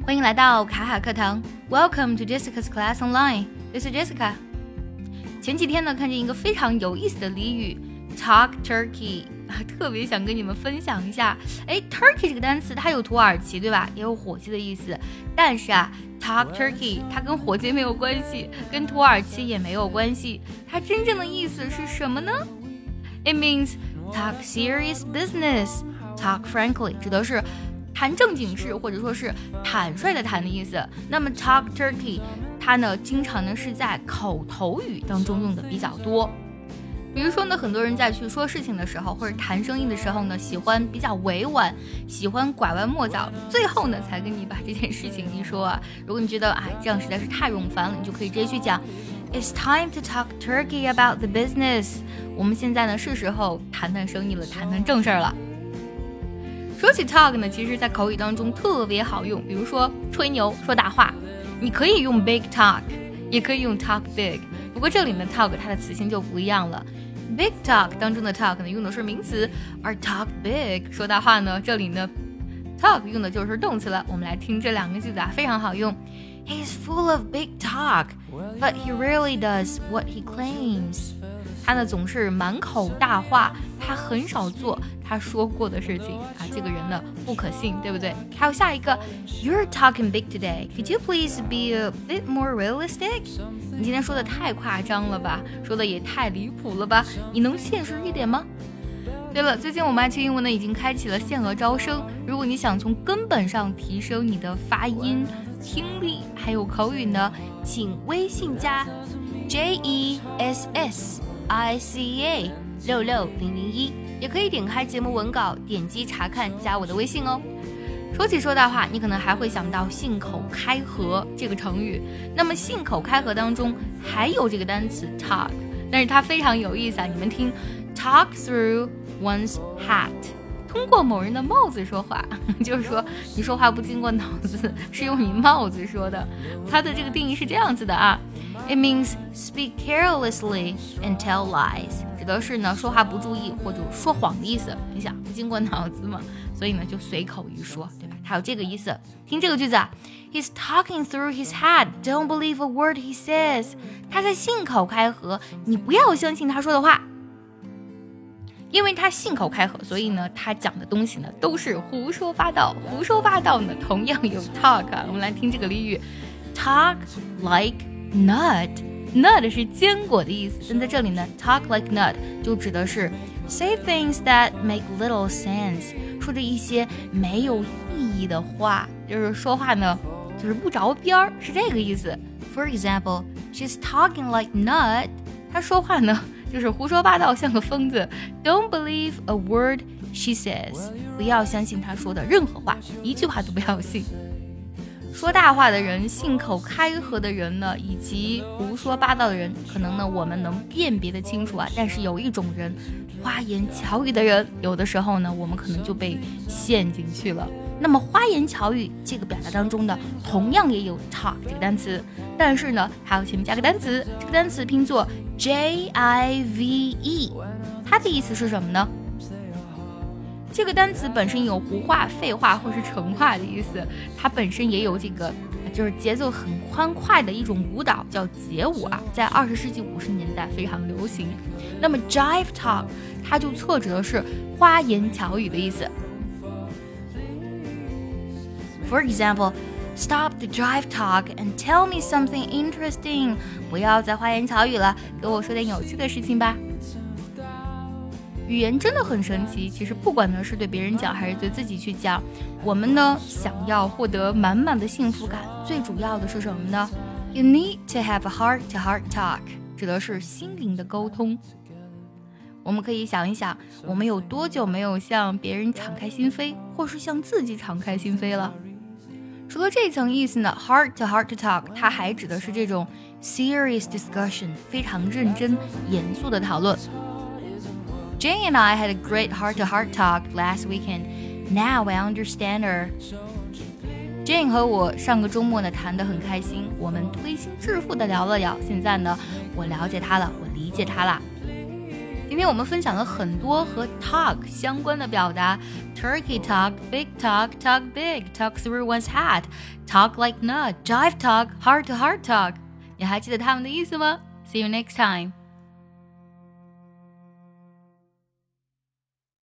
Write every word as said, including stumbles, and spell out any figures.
欢迎来到卡卡课堂 Welcome to Jessica's Class Online. This is Jessica. 前几天呢，看见一个非常有意思的俚语 Talk Turkey， 特别想跟你们分享一下。哎 Turkey 这个单词它有土耳其对吧，也有火鸡的意思，但是啊 Talk Turkey 它跟火鸡没有关系，跟土耳其也没有关系，它真正的意思是什么呢？ It means talk serious business, talk frankly 指的是谈正经事，或者说是坦率的谈的意思。那么 talk turkey 它呢经常呢是在口头语当中用的比较多。比如说呢，很多人在去说事情的时候，或者谈生意的时候呢，喜欢比较委婉，喜欢拐弯抹角，最后呢才跟你把这件事情一说啊。如果你觉得哎这样实在是太冗烦了，你就可以直接去讲 It's time to talk turkey about the business。 我们现在呢是时候谈谈生意了，谈谈正事儿了。说起 talk 呢，其实在口语当中特别好用，比如说吹牛说大话，你可以用 big talk， 也可以用 talk big， 不过这里呢 talk 它的词性就不一样了。big talk 当中的 talk 呢用的是名词，而 talk big 说大话呢，这里呢 talk 用的就是动词了。我们来听这两个句子啊，非常好用。He's full of big talk, but he rarely does what he claims。他呢总是满口大话，他很少做他说过的事情啊，这个人呢不可信，对不对？还有下一个 You're talking big today. Could you please be a bit more realistic? 你今天说的太夸张了吧，说的也太离谱了吧，你能现实一点吗？对了，最近我们爱趣英文呢已经开启了限额招生，如果你想从根本上提升你的发音、听力还有口语呢，请微信加 J E S S I C A 六六零零一，也可以点开节目文稿，点击查看，加我的微信哦。说起说大话，你可能还会想到信口开河这个成语。那么信口开河当中还有这个单词 talk， 但是它非常有意思啊！你们听 talk through one's hat， 通过某人的帽子说话，就是说你说话不经过脑子，是用你帽子说的。它的这个定义是这样子的啊。It means speak carelessly and tell lies， 指的是呢说话不注意或者说谎的意思。你想不经过脑子嘛，所以呢就随口一说，对吧？它有这个意思。听这个句子啊 He's talking through his hat, don't believe a word he says。 他在信口开河，你不要相信他说的话。因为他信口开河，所以呢他讲的东西呢都是胡说八道。胡说八道呢同样有 talk 啊。我们来听这个俚语 Talk like nut， nut 是坚果的意思，但在这里呢 talk like nut 就指的是 say things that make little sense， 说着一些没有意义的话，就是说话呢就是不着边，是这个意思。 For example, she's talking like nut， 她说话呢就是胡说八道，像个疯子。 Don't believe a word she says， 不要相信她说的任何话，一句话都不要信。说大话的人，信口开河的人呢，以及胡说八道的人，可能呢我们能辨别得清楚啊。但是有一种人，花言巧语的人，有的时候呢我们可能就被陷进去了。那么花言巧语这个表达当中呢，同样也有 talk 这个单词，但是呢还要前面加个单词，这个单词拼作 J I V E， 它的意思是什么呢？这个单词本身有胡话、废话或是成话的意思，它本身也有这个就是节奏很欢快的一种舞蹈，叫街舞啊，在二十世纪五十年代非常流行。那么 jive talk 它就侧指的是花言巧语的意思。For example, stop the jive talk and tell me something interesting。 不要再花言巧语了，给我说点有趣的事情吧。语言真的很神奇，其实不管呢是对别人讲还是对自己去讲，我们呢想要获得满满的幸福感，最主要的是什么呢？ You need to have a heart-to-heart talk， 指的是心灵的沟通。我们可以想一想，我们有多久没有向别人敞开心扉，或是向自己敞开心扉了？除了这层意思呢 heart-to-heart talk 它还指的是这种 serious discussion， 非常认真严肃的讨论。Jane and I had a great heart-to-heart talk last weekend. Now I understand her. Jane 和我上个周末呢谈得很开心，我们推心置腹的聊了聊。现在呢，我了解她了，我理解她了。 今天我们分享了很多和 talk 相关的表达 Turkey talk, big talk, talk big, talk through one's hat, talk like nut, jive talk, heart to heart talk 你还记得它们的意思吗？ See you next time